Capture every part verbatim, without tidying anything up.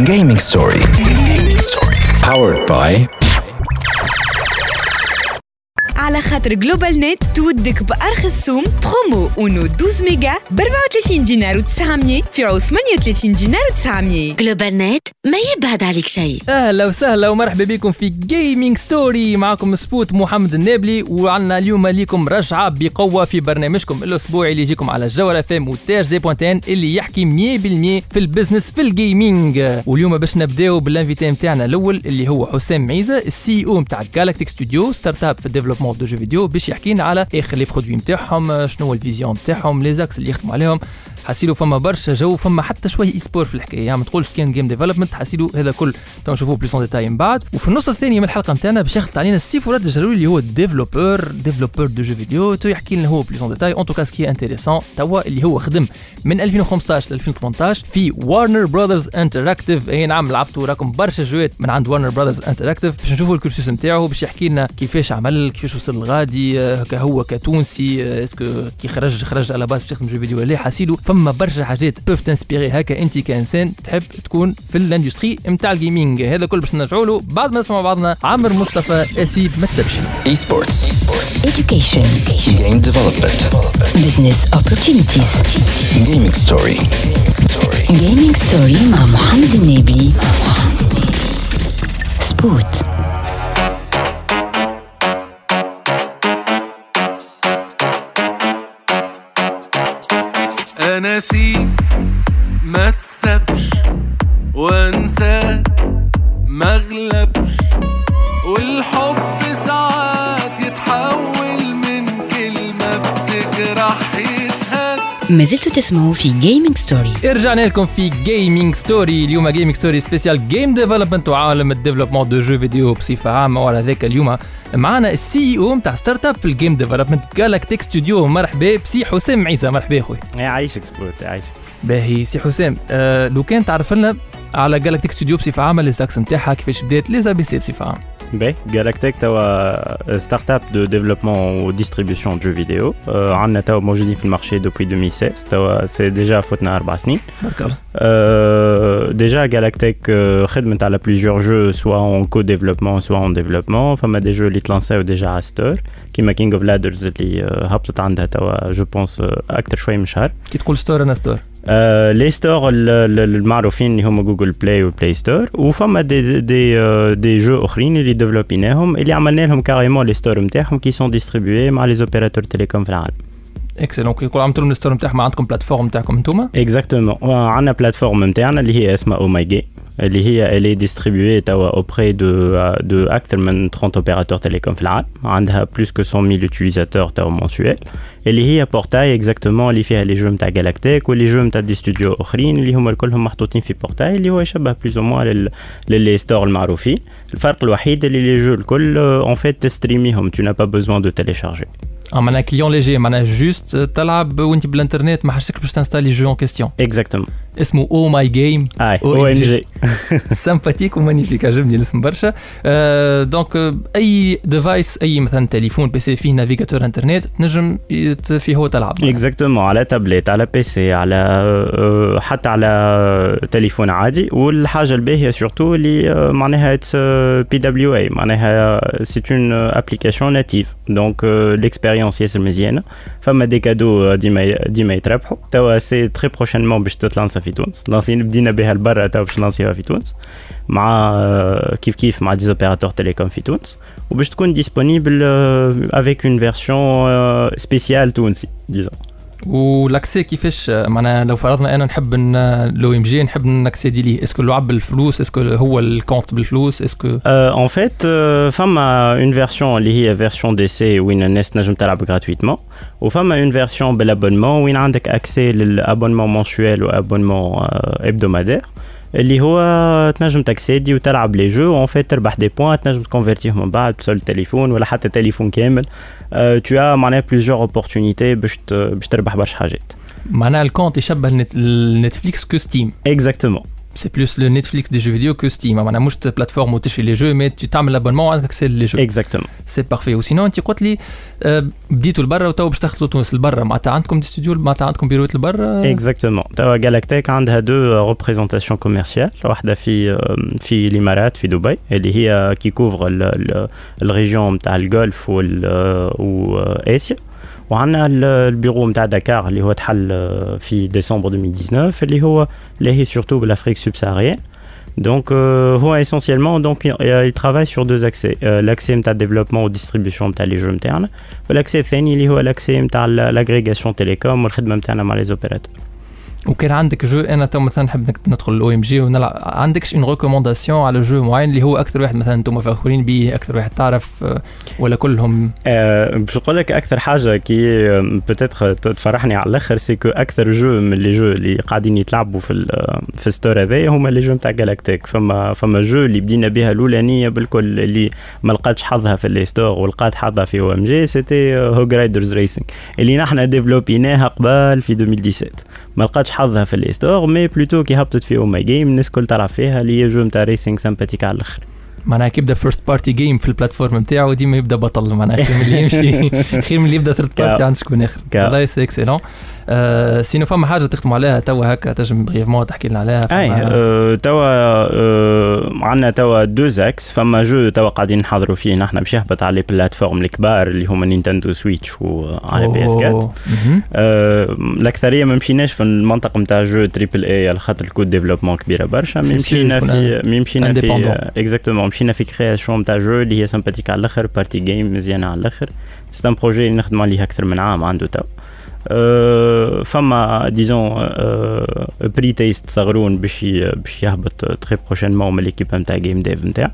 Gaming Story. Powered by على خاطر جلوبال نت تودك بأرخص سوم برومو اونو اثناشر ميجا ب أربعة وثلاثين دينار وتسعمية في عوض ثمانية وثلاثين دينار وتسعمية. جلوبال نت ما يبعد عليك شيء. اهلا وسهلا ومرحبا بكم في جيمنج ستوري. معكم سبوت محمد النابلي، وعنا اليوم ليكم رجعه بقوه في برنامجكم الاسبوعي اللي يجيكم على الجوهره اف ام وتاج زي بوانتين اللي يحكي مية بالمية في البزنس في الجيمنج. واليوم باش نبداو بالانفيتي نتاعنا الاول اللي هو حسام معيزه، السي او نتاع جالاكتيك ستوديو ستارت اب في الديفلوبمون دو جو فيديو، باش يحكينا على اخر لي برودوي نتاعهم، شنو هو الفيزيون نتاعهم، لي زاكس اللي يخدموا عليهم. حاسيلو فما برشا جو، فما حتى شويه اي سبور في الحكايه، يعني ما تقولش كان جيم ديفلوبمنت. حاسيلو هذا كل تو نشوفوه بليس اون ديتاي من بعد. وفي النص الثاني من الحلقه نتاعنا باش يخلط علينا السي فراد الجلولي اللي هو ديفلوبور ديفلوبور دو جو فيديو، تو يحكي لنا هو بليس اون ديتاي اون توكا سكي انتريسون توا اللي هو خدم من ألفين وخمسطاش ل ألفين وثمنطاش في وارنر براذرز انتراكتيف. اي نعم، لعبتوا راكم برشا جوات من عند وارنر براذرز انتراكتيف. باش نشوفوا الكورسوس نتاعو، باش يحكي لنا كيفاش عمل، كيفاش وصل لغادي، هكا هو كتونسي اسكو كي خرج خرج على باش يخدم جو فيديو ولا. حاسيلو فما برشا حاجات بوف تنسبيري هكا انت كانسان تحب تكون في الاندستري نتاع الجيمنج. هذا كل باش نرجعوا له بعد ما نسمع بعضنا عامر مصطفى اسيد ما تسبش. اي سبورتس، Education, Game Development, Business Opportunities. Gaming Story. Gaming Story مع محمد النابلي. سبوت. أنا سي ما تسبش وانساك ما غلبش، والحب ساعات يتحول من كلمة بتجرح يتهد. ما زلتوا تسمعوا في جيمنج ستوري. رجعنا لكم في جيمنج ستوري. اليوم جيمنج ستوري سبيسيال جيم ديفلوبمنت وعالم الديفلوبمون دو جو فيديو بصفة عامة. وعلى ذاك اليوم معنا السي او نتاع ستارت اب في الجيم ديفلوبمنت جالاكتيك ستوديو. مرحبا بسي حسام معيزه. مرحبا اخوي. يعيشك سبوت. يعيشك باهي سي حسام. آه لو كان تعرف لنا على جالاكتيك ستوديو بصفة عامة، لي زاكس نتاعها كيفاش بدات، لي زي بي سي بصفة عامة. باهي جالاكتيك توا ستارت اب دو ديفلوبمون و ديستريبيوشن دو جو فيديو. عندنا توا موجودين في المارشي دوبوي ألفين وستة. توا سي ديجا فوتنا أربع سنين. بارك الله. ديجا جالاكتيك خدمت على بليزيور جو سوا اون كو ديفلوبمون سوا اون ديفلوبمون. فما دي جو اللي تلانساو ديجا على ستور كيما كينج اوف لادرز اللي هبطت عندها توا جو بونس اكثر شوي من شهر. كي تقول ستور انا ستور آه لي ستور المعروفين اللي هما جوجل بلاي وبلاي ستور، وفما دي دي آه دي جو اخرين اللي ديفلوبيناهم اللي عملنا لهم كاريمون لي ستور نتاعهم كي سون ديستريبيوي مع لي اوبيراتور تيليكوم في العالم. اكسلون. كي يقول عملتوا لهم الستور نتاعكم، عندكم بلاتفورم نتاعكم انتوما؟ اكزاكتومون. عندنا بلاتفورم نتاعنا اللي هي اسمها او ماي جي، اللي هي اللي ديستريبيوي توا اوبري دو دو اكثر من ثلاثين اوبيراتور تيليكوم في العالم. عندها بلوس كو مية ألف يوتيليزاتور توا مونسويل، اللي هي بورتاي اكزاكتومون اللي فيها لي جو نتاع جالاكتيك واللي جو نتاع دي ستوديو اخرين اللي هما كلهم محطوطين في بورتاي اللي هو يشبه بلوز او موان للي ستور المعروفين. الفرق الوحيد اللي لي جو الكل اون فيت تستريميهم، tu n'as pas besoin de télécharger. اه معناها كليون ليجي، معناها جوست تلعب وانت بالانترنت، ما حاجتكش باش تنستالي جو اون كيستيون. اكزاكتومون. اسمه او ماي جيم. اي او ام جي. سامباتيك ومانيفيك، عجبني الاسم برشا. آه دونك اي ديفايس، اي مثلا تليفون بي سي فيه نافيغاتور انترنت تنجم فيه هو تلعب. اكزاكتومون، على تابلت، على بي سي، على أه حتى على تليفون عادي. والحاجه الباهيه سورتو اللي معناها اتس بي دبليو اي، معناها سي اون ابليكاسيون ناتيف. دونك ليكسبيريونس ياسر مزيانه. فما دي كادو ديما ديما يتربحوا. توا سي تري بروشينمون باش تتلانسا في تونس. لانسين بدينا بها لبرا، توا باش نلانسيها في تونس مع كيف كيف مع دي اوبيراتور تيليكوم في تونس، وباش تكون ديسپونيبل افيك اون فيرسيون سبيسيال تونسي ديزون. والاكسي كيفاش، معناها لو فرضنا انا نحب لو ام جي نحب نكسيدي ليه، اسكو لعب بالفلوس، اسكو هو الكونت بالفلوس، اسكو ان فيت فما اون فيرسيون اللي هي فيرسيون دي سي وين الناس تنجم تلعب غراتويتمون، وفما اون فيرسيون بالابونمون وين عندك اكسي للابونمون منسويل وابونمون ابدومادير اللي هو تنجم تاكسيدي وتلعب لي جو اون فيت تربح دي بوين تنجم تكونفيرتيهم من بعد بسول التليفون ولا حتى تليفون كامل. تو ا معناها بليزيور اوبورتونيتي باش باش تربح برشا حاجات. معناها الكونت يشبه النتفليكس كو ستيم. اكزاكتومون سي بلوس لو نتفليكس دي جو فيديو كو ستيم معناها مش بلاتفورم وتشري لي جو مي تو تعمل ابونمون وعندك اكسي لي جو اكزاكتومون سي بارفي. وسينو انت قلت لي بديتوا لبرا وتو باش تخلطوا تونس لبرا معناتها عندكم دي ستوديو معناتها عندكم بيروت لبرا اكزاكتومون. توا جالاكتيك عندها دو ريبريزونطاسيون كوميرسيال واحده في في الامارات في دبي اللي هي كي كوفر الريجيون نتاع الجولف واسيا وعندنا البيرو نتاع دكار اللي هو تحل في ديسمبر ألفين وتسعطاش اللي هو اللي هي سورتو بالافريك سوبساهاريenne. Donc euh, هو essentiellement donc il travaille sur deux accès euh, l'accès نتاع développement و distribution نتاع les jeux نتاعنا والاكسي الثاني اللي هو الاكسي نتاع l'agrégation télécom والخدمه نتاعنا مع les opérateurs. وكان عندك جو انا تو مثلا نحب ندخل الاو ام جي ونلعب عندكش اون ريكومونداسيون على جو معين اللي هو اكثر واحد مثلا انتم فخورين به اكثر واحد تعرف ولا كلهم؟ أه باش نقول لك اكثر حاجه كي بوتيتر تفرحني على الاخر سي كو اكثر جو من لي جو اللي قاعدين يتلعبوا في في ستور هذايا هما لي جو نتاع جالاكتيك. فما فما جو اللي بدينا بها الاولانيه بالكل اللي ما لقاتش حظها في لي ستور ولقات حظها في او ام جي سيتي هوغ رايدرز ريسينغ اللي نحن ديفلوبيناها قبل في ألفين وسبعطاش ما لقاتش حظها في الاستور مي بلوتو كي هبطت في او ماي جيم الناس كل تعرف فيها اللي هي جو نتاع ريسينغ سامباتيك على الاخر. معناها كي يبدا فيرست بارتي جيم في البلاتفورم نتاعو ديما يبدا بطل معناها خير من اللي يمشي خير من اللي يبدا ثيرد بارتي عند شكون اخر. والله سي اكسيلون. أه سينو فما حاجه تختموا عليها توا هكا تنجم بريفمون تحكي لنا عليها؟ اي أه توا أه عندنا توا دو زاكس. فما جو توا قاعدين نحضروا فيه نحن باش يهبط على البلاتفورم الكبار اللي هما نينتندو سويتش وعلى بي اس أربعة. أه الاكثريه ما مشيناش في المنطقه نتاع جو تريبل اي على خاطر الكود ديفلوبمون كبيره برشا. مشينا في مشينا في اكزاكتومون مشينا في كرياسيون نتاع جو اللي هي سامباتيك على الاخر بارتي جيم مزيانه على الاخر. سي ان بروجي اللي نخدموا عليه اكثر من عام عنده توا. أه فما ديزون أه بري تيست صغرون باش باش يهبط تري بروشينمون من ليكيب نتاع جيم ديف نتاع.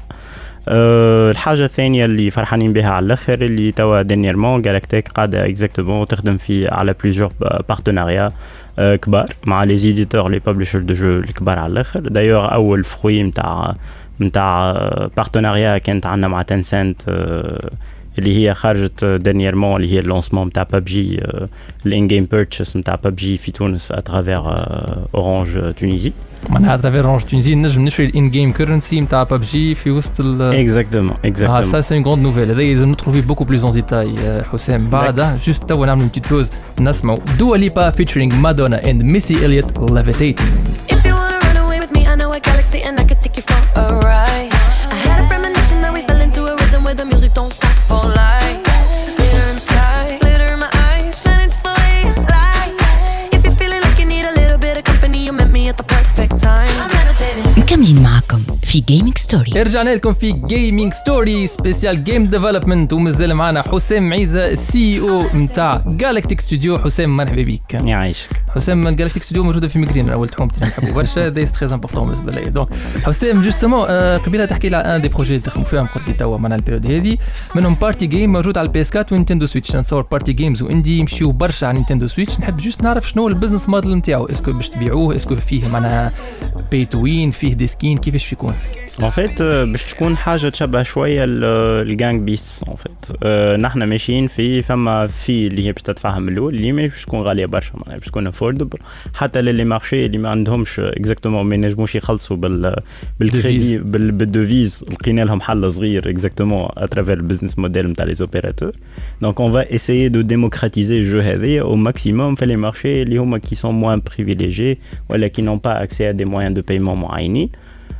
أه الحاجه الثانيه اللي فرحانين بها على الاخر اللي توا دينيرمون جالاكتيك قاعده اكزاكتومون تخدم في على بليزيور بارتناريا أه كبار مع لي زيديتور لي بابليشر دو جو الكبار على الاخر. دايوغ اول فروي نتاع نتاع بارتناريا كانت عندنا مع تنسنت أه اللي هي خرجت دانييرمون اللي هي اللونسمون نتاع بابجي الان جيم بيرتشيس نتاع بابجي في تونس اترافير اورانج تونيزي. معناها اترافير اورانج تونيزي نجم نشري الان جيم كورنسي نتاع بابجي في وسط ال اكزاكتومون اكزاكتومون. اه سا سي اون غروند نوفيل. هذا لازم ندخلوا فيه بوكو بلوز اون ديتاي حسام بعدها. جوست توا نعملوا بتيت بوز نسمعوا دوا ليبا فيتشرينج مادونا اند ميسي اليوت ليفيتيتنج. If you wanna run away with me I know a galaxy and I could take you for a ride. I had a premonition that we fell into a rhythm where the music don't stop for life. Glitter in the sky, glitter in my eyes, shining just the way you like. If you're feeling like you need a little bit of company, you met me at the perfect time. I'm meditating. مكملين معكم في جيمنج ستوري. رجعنا لكم في جيمنج ستوري سبيسيال جيم ديفلوبمنت ومازال معنا حسام عيزة السي او نتاع جالاكتيك ستوديو. حسام مرحبا بك. يعيشك. حسام جالاكتيك ستوديو موجوده في ميغرين اول تحومتي نحبوا برشا هذا تري امبورطون بالنسبه لي. دونك حسام جوستومون قبيله تحكي لي على ان دي بروجي اللي تخدموا فيهم قلت لي توا معنا البيريود هذه منهم بارتي جيم موجود على البي اس أربعة ونينتندو سويتش. نصور بارتي جيمز واندي يمشيو برشا على نينتندو سويتش. نحب جوست نعرف شنو البزنس موديل نتاعو. اسكو باش تبيعوه اسكو فيه معناها باي تو وين فيه دي سكين كيفاش فيكون؟ ان فيت باش تكون حاجه تشبه شويه الجانج بيس. ان فيت نحن ماشيين في فما في اللي هي باش تدفعها من الاول اللي مش باش تكون غاليه برشا معناها باش تكون افوردبل حتى للي مارشي اللي ما عندهمش اكزاكتومون ما ينجموش يخلصوا بال بالكريدي بالدوفيز. لقينا لهم حل صغير اكزاكتومون اترافير البزنس موديل نتاع لي اوبيراتور. دونك اون فا اسيي دو ديموكراتيزي الجو هذايا او ماكسيموم في لي مارشي اللي هما كي سون موان بريفيليجي ولا كي نون با اكسي ا دي موان دو بايمون معينين.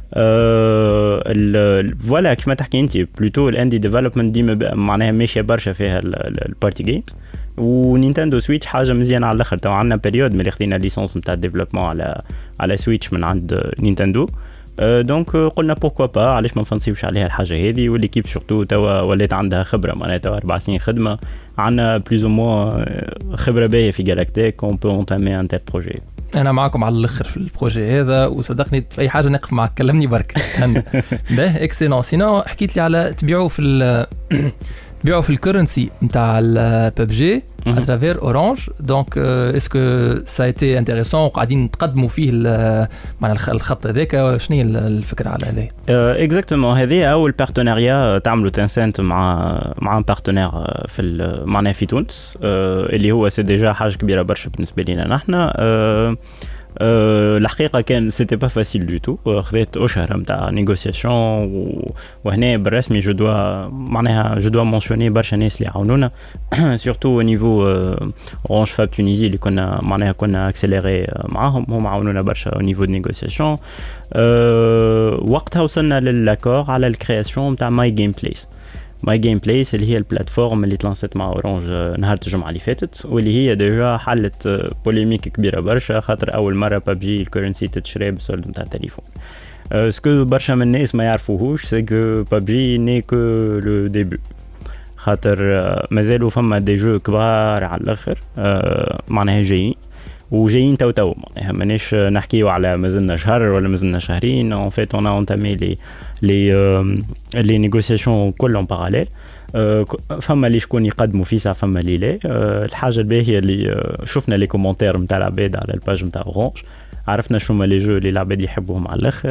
فوالا كيما تحكي انت بلوتو الاندي ديفلوبمنت ديما معناها ماشيه برشا فيها البارتي جيمز. ونينتندو سويتش حاجه مزيانه على الاخر. تو عندنا بيريود ملي خدينا ليسونس نتاع الديفلوبمون على على سويتش من عند نينتندو. دونك قلنا بوركوا با علاش ما نفنسيوش عليها الحاجه هذه. والليكيب سورتو توا ولات عندها خبره معناها توا اربع سنين خدمه عندنا بلوز او موا خبره باهيه في جالاكتيك اون بو اونتامي ان تيل بروجي. انا معكم على الاخر في البروجي هذا وصدقني في اي حاجه نقف معك كلمني برك. باهي اكسيلون. سينو حكيت لي على تبيعوا في تبيعوا في الكرنسي نتاع الببجي اترافير اورانج. دونك اسكو سا ايتي انتريسون وقاعدين تقدموا فيه مع الخط هذاك شنو هي الفكره على هذه؟ اكزاكتومون هذه اول بارتناريا تعملوا تنسنت مع مع بارتنير في معناها في تونس اللي هو سي ديجا حاجه كبيره برشا بالنسبه لنا نحن. الحقيقة كان سيتي با فاسيل دو تو خذيت أشهر متاع نيغوسياسيون وهنا بالرسمي جو دوا معناها جو دوا مونسيوني برشا ناس اللي عاونونا سورتو نيفو اورانج فاب تونيزي اللي كنا معناها كنا اكسيليري معاهم هم عاونونا برشا او نيفو دو نيغوسياسيون وقتها وصلنا للاكور على الكرياسيون متاع ماي جيم بليس ماي جيم بليس اللي هي البلاتفورم اللي تلانست مع اورانج نهار الجمعه اللي فاتت واللي هي ديجا حلت بوليميك كبيره برشا خاطر اول مره ببجي الكورنسي تتشري بالسولد نتاع التليفون سكو برشا من الناس ما يعرفوهوش سي كو ببجي ني كو لو ديبي خاطر مازالوا فما دي جو كبار على الاخر معناها جايين وجايين تو تو معناها مانيش نحكيو على مازلنا شهر ولا مازلنا شهرين ان فيت اون اونتامي لي لي لي نيغوسياسيون كلهم باراليل فما اللي شكون يقدموا في ساعه فما اللي لا الحاجه الباهيه اللي شفنا لي كومونتير نتاع العباد على الباج نتاع اورانج عرفنا شو هما لي جو اللي العباد يحبوهم على الاخر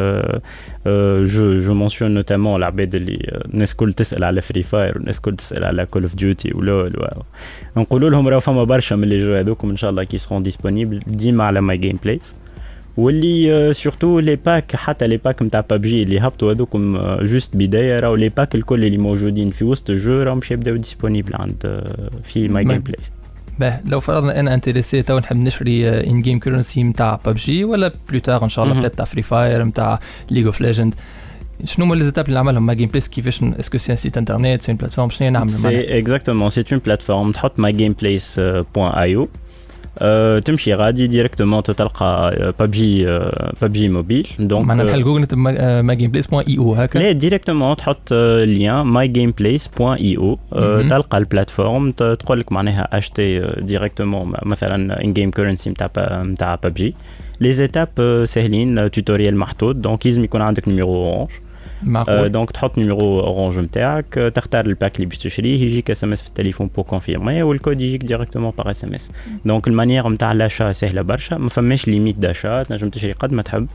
جو جو مونسيون نوتامون العباد اللي الناس كل تسال على فري فاير والناس كل تسال على كول اوف ديوتي ولول نقولوا لهم راه فما برشا من لي جو هذوكم ان شاء الله كي سرون ديسپونيبل ديما على ماي جيم بليس واللي سورتو لي باك حتى لي باك نتاع ببجي اللي هبطوا هذوكم جوست بدايه راهو لي باك الكل اللي موجودين في وسط الجو راهم باش يبداو ديسپونيبل عند في ماي جيم بليس. باه لو فرضنا انا انتريسي تو نحب نشري ان جيم كورنسي نتاع ببجي ولا بلوتار ان شاء الله بتاع فري فاير نتاع ليج اوف ليجند شنو هما لي زيتاب اللي عملهم ما جيم بليس كيفاش اسكو سي ان سيت انترنت سي ان بلاتفورم شنو نعملوا سي اكزاكتومون سي اون بلاتفورم تحط ما جيم بليس بوان اي او أه تمشي غادي ديريكتومون تلقى ببجي ببجي موبيل دونك معنا بحال جوجل ما جيم بليس بوان اي او هكا لا ديريكتومون تحط لين ماي جيم بليس بوان اي او تلقى البلاتفورم تقول لك معناها اشتي ديريكتومون مثلا ان جيم كورنسي نتاع نتاع ببجي لي زيتاب سهلين توتوريال محطوط دونك لازم يكون عندك نيميرو اورانج معقول دونك تحط نيميرو اورانج نتاعك تختار الباك اللي باش تشريه يجيك اس ام اس في التليفون بو كونفيرمي والكود يجيك ديريكتومون باغ اس ام اس دونك المانيير نتاع لاشا سهله برشا ما فماش ليميت داشا تنجم تشري قد ما تحب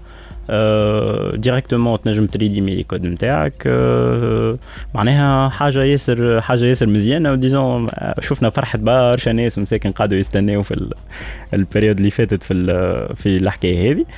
ديريكتومون تنجم تريديمي لي كود نتاعك معناها حاجه ياسر حاجه ياسر مزيانه وديزون شفنا فرحه برشا ناس مساكن قاعدوا يستناو في البريود اللي فاتت في في الحكايه هذه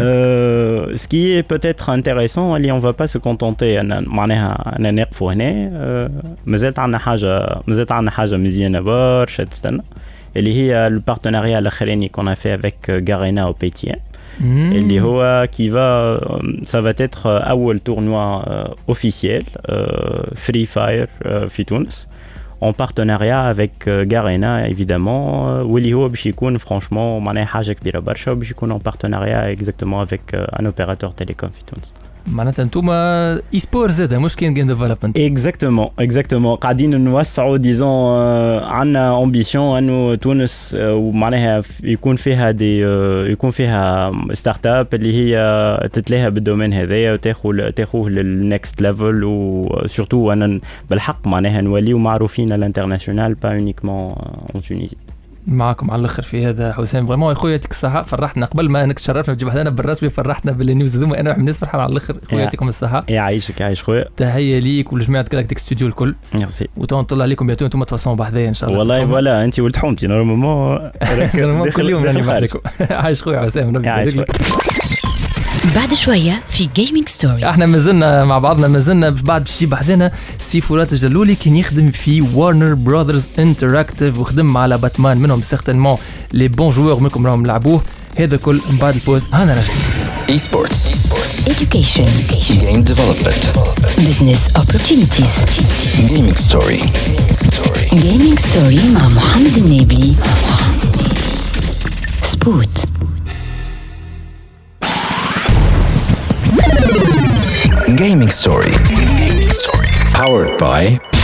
سكي بوتيتر انتريسون اللي اون فا با سو كونتونتي انا معناها انا نقفوا هنا مازالت عندنا حاجه مازالت عندنا حاجه مزيانه برشا تستنى اللي هي البارتناريا الاخراني كون في افيك غارينا او بي تي ام اللي هو qui va ça va être اول tournoi officiel Free Fire في تونس en partenariat avec Garena évidemment واللي هو باش يكون franchement معناها حاجه كبيره برشا وباش يكون en partenariat exactement avec un opérateur télécom في تونس معناتها انتوما اي سبور زاد مش كاين جيم ديفلوبمنت اكزاكتومون اكزاكتومون قاعدين نوسعوا ديزون عندنا امبيسيون انه تونس ومعناها يكون فيها دي يكون فيها ستارت اب اللي هي تتلاها بالدومين هذايا وتاخذ تاخذه للنكست ليفل وسورتو انا بالحق معناها نوليو معروفين على الانترناسيونال با اونيكمون اون تونيزي. معكم على الاخر في هذا حسام فريمون اخويا يعطيك الصحه فرحتنا قبل ما انك تشرفنا تجيب حدانا بالرسمي فرحنا بالنيوز هذوما انا الناس فرحان على الاخر اخويا يعطيكم الصحه يعيشك يعيش خويا تحيه ليك ولجماعه جالاكتيك ستوديو الكل ميرسي وتنطلع عليكم بيتو انتم تفصلوا بحذايا ان شاء الله والله فوالا انت ولد حومتي نورمالمون كل يوم راني معاكم عايش خويا حسام ربي بعد شوية في جيمنج ستوري احنا مازلنا مع بعضنا مازلنا بعد باش يجيب بحذنا سي فرات الجلولي كان يخدم في وارنر براذرز انتراكتيف وخدم على باتمان منهم سيغتينمون لي بون جوور منكم راهم لعبوه هذا كل من بعد البوز هانا راجعين. Esports, education, game development, business opportunities, gaming story. Gaming story مع محمد النبي. سبوت. Gaming story. Powered by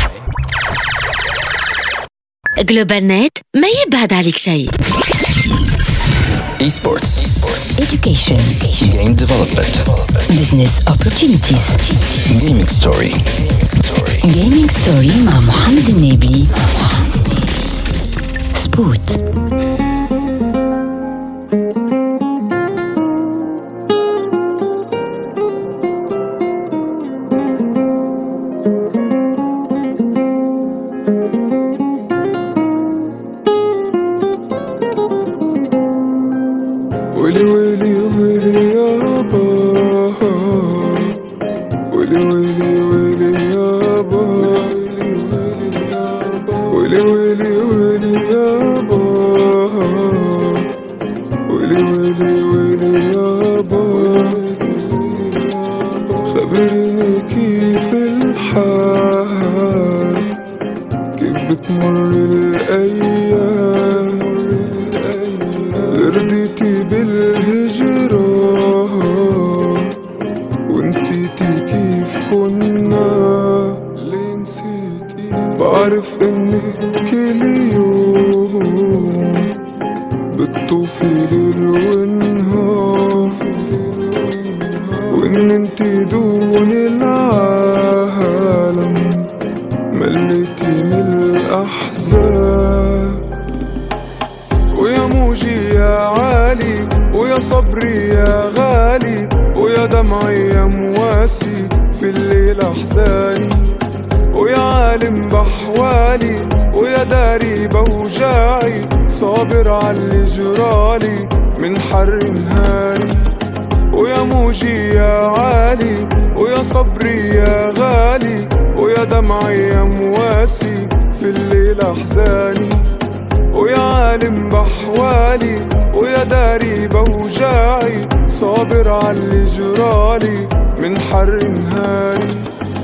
جلوبال نت ما يبعد عليك شيء. Esports, education, game development, business opportunities, gaming story. Gaming story مع محمد النبي. سبوت. ويلي ويلي ويلي يابا ويلي ويلي ويلي يابا ويلي ويلي ويلي يابا ويلي ويلي ويلي يابا خبريني كيف الحال كيف بتمر الأيام رضيتي بالهجرة ونسيتي كيف كنا ليه نسيتي بعرف انك كل يوم بتطوفي ليل ونهار وان انتي دون العالم مليتي من الأحزان ويا موجي يا عالي ويا صبري يا غالي ويا دمعي يا مواسي في الليل أحزاني ويا عالم بحوالي ويا داري بوجاعي صابر عاللي جرالي من حر نهاري ويا موجي يا عالي ويا صبري يا غالي ويا دمعي يا مواسي في الليل أحزاني ويا عالم بحوالي ويا داري بوجاعي صابر عاللي جرالي من حر نهاري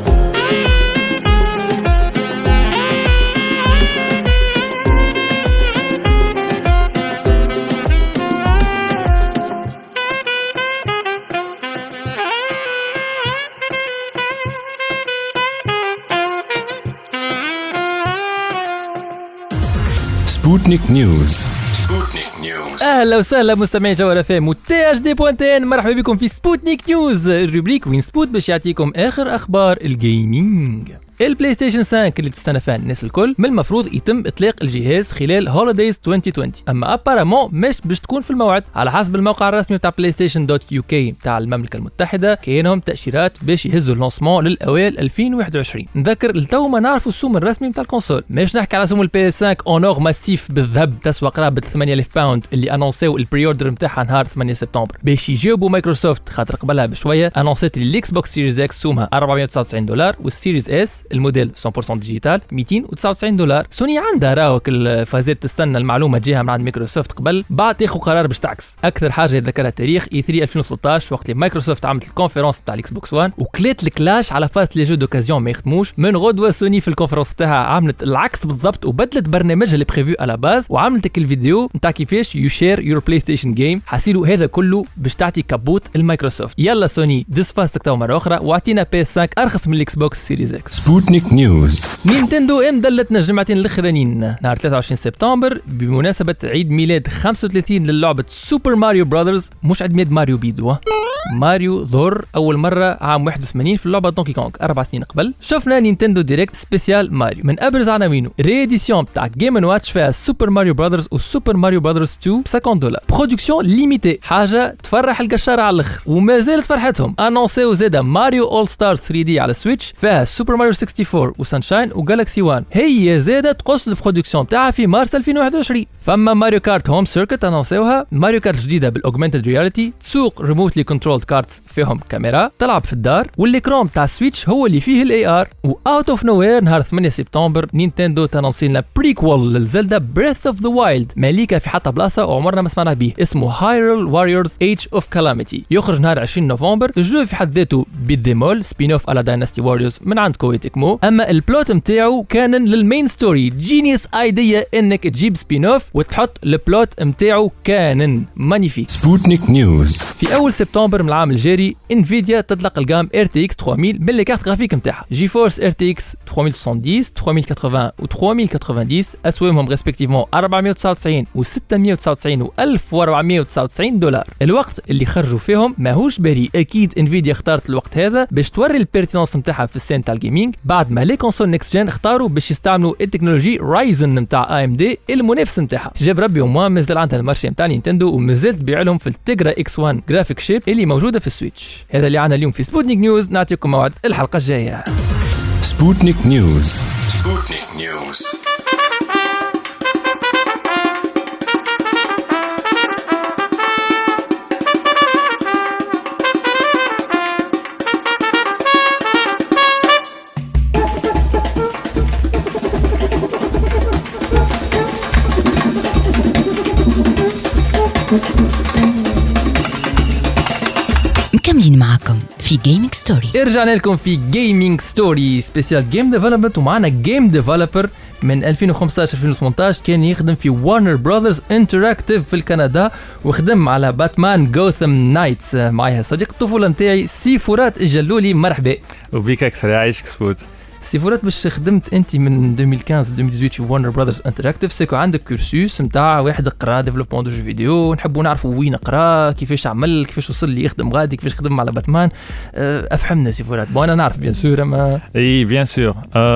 سبوتنيك نيوز. سبوتنيك نيوز. اهلا وسهلا مستمعي جوهر اف ام وتي اش دي بوانتين، مرحبا بكم في سبوتنيك نيوز، الروبريك وين سبوت باش يعطيكم اخر اخبار الجيمنج. البلاي ستيشن خمسة اللي تستنى فيها الناس الكل من المفروض يتم اطلاق الجهاز خلال هوليديز ألفين وعشرين، اما ابارامون مش باش تكون في الموعد. على حسب الموقع الرسمي بتاع بلاي ستيشن دوت يو كي بتاع المملكه المتحده، كاينهم تاشيرات باش يهزوا اللونسمون للاوائل ألفين وواحد وعشرين. نذكر لتو ما نعرفوا السوم الرسمي بتاع الكونسول، مش نحكي على سوم البي اس خمسة اونور ماسيف بالذهب تسوى قرابه ثمانية آلاف باوند اللي انونسيو البري اوردر نتاعها نهار ثمانية سبتمبر باش يجاوبوا مايكروسوفت، خاطر قبلها بشويه انونسيت الاكس بوكس سيريز اكس سومها أربعمائة وتسعة وتسعين دولار والسيريز اس الموديل مية بالمية ديجيتال مئتين وتسعة وتسعين دولار. سوني عندها راوك الفازات تستنى المعلومه تجيها من عند مايكروسوفت قبل بعد تاخذ قرار باش تعكس. اكثر حاجه يتذكرها التاريخ اي ثلاثة ألفين وثلاثة عشر وقت اللي مايكروسوفت عملت الكونفرنس بتاع الاكس بوكس واحد وكلات الكلاش على فاز لي جو دوكازيون ما يخدموش. من غدوه سوني في الكونفرنس بتاعها عملت العكس بالضبط وبدلت برنامجها اللي بريفيو على باز وعملت الفيديو نتاع كيفاش يو شير يور بلاي ستيشن جيم. حاسيلو هذا كله باش تعطي كابوت المايكروسوفت. يلا سوني ديس فاستك تو مره اخرى واعطينا بي اس خمسة ارخص من الاكس بوكس سيريز اكس. سبوتنيك نيوز. نينتندو ام دلتنا الجمعتين الاخرانيين نهار ثلاثة وعشرين سبتمبر بمناسبه عيد ميلاد خمسة وثلاثين للعبه سوبر ماريو براذرز، مش عيد ميلاد ماريو بيدو، ماريو ظهر اول مره عام واحد وثمانين في اللعبه دونكي كونغ اربع سنين قبل. شفنا نينتندو ديريكت سبيسيال ماريو من ابرز عناوينه ريديسيون تاع جيم اند واتش فيها سوبر ماريو براذرز وسوبر ماريو براذرز اثنين ب خمسين دولار، برودكسيون ليميتي، حاجه تفرح القشاره على الاخر وما زالت فرحتهم. انونسيو زاده ماريو اول ستارز ثري دي على سويتش فيها سوبر ماريو أربعة وستين وسانشاين وجالكسي واحد، هي زاده تقص البرودكسيون تاعها في مارس ألفين وواحد وعشرين. فما ماريو كارت هوم سيركت انونسيوها، ماريو كارت جديده بالاوجمانتد رياليتي، تسوق ريموتلي كنترولد كارتس فيهم كاميرا، تلعب في الدار، والاكرام تاع سويتش هو اللي فيه الاي ار. واوت اوف نوير نهار ثمانية سبتمبر نينتندو تنونسي لنا بريكول للزلدا بريث اوف ذا وايلد، ماليكا في حتى بلاصه وعمرنا ما سمعنا به، اسمه هايرول واريورز ايج اوف كالاميتي، يخرج نهار عشرين نوفمبر. الجو في حد ذاته بالديمول سبين اوف على دايناستي واريورز من عند كوي تكمو، اما البلوت نتاعو كان للمين ستوري. جينيوس ايديا انك تجيب سبين اوف وتحط البلوت نتاعو كانن مانيفيك. سبوتنيك نيوز. في اول سبتمبر من العام الجاري انفيديا تطلق الجام ار تي اكس ثلاثمية باللي كارت جرافيك نتاعها جي فورس ار تي اكس ثلاثمية وسبعين ثلاثمية وثمانين و ثلاثمية وثمانين، اسوامهم ريسبكتيفمون أربعمية وتسعة وتسعين و ستمية وتسعة وتسعين و ألف وأربعمية وتسعة وتسعين دولار. الوقت اللي خرجوا فيهم ماهوش بريء، اكيد انفيديا اختارت الوقت هذا باش توري البيرتينونس نتاعها في السين تاع الجيمنج بعد ما لي كونسول نيكست جين اختاروا باش يستعملوا التكنولوجي رايزن نتاع اي ام دي المنافس نتاعها. جاب ربي وما مازال عندها المارشي نتاع نينتندو ومازال تبيع لهم في التيجرا اكس واحد جرافيك شيب اللي موجوده في السويتش. هذا اللي عنا اليوم في سبوتنيك نيوز، نعطيكم موعد الحلقه الجايه. سبوتنيك نيوز. سبوتنيك نيوز. مكملين معكم في جيمنج ستوري. رجعنا لكم في جيمنج ستوري سبيشال جيم ديفلوبمنت، ومعنا جيم ديفلوبر من ألفين وخمسطاش ألفين وثمنطاش كان يخدم في وارنر براذرز انتراكتيف في الكندا، وخدم على باتمان جوثم نايتس. معايا صديق الطفوله نتاعي سي فرات الجلولي، مرحبا. وبيك اكثر، يعيشك سبوت. سي فرات، باش خدمت انت من ألفين وخمسطاش ألفين وثمانية عشر في وارنر براذرز انتراكتيف، سيكو عندك كورسوس نتاع واحد قرا ديفلوبمون دو جو فيديو، نحبوا نعرفوا وين قرا، كيفاش عمل، كيفاش وصل لي يخدم غادي، كيفاش خدم على باتمان. افهمنا سي فرات. بون انا نعرف بيان سور اما اي بيان سور.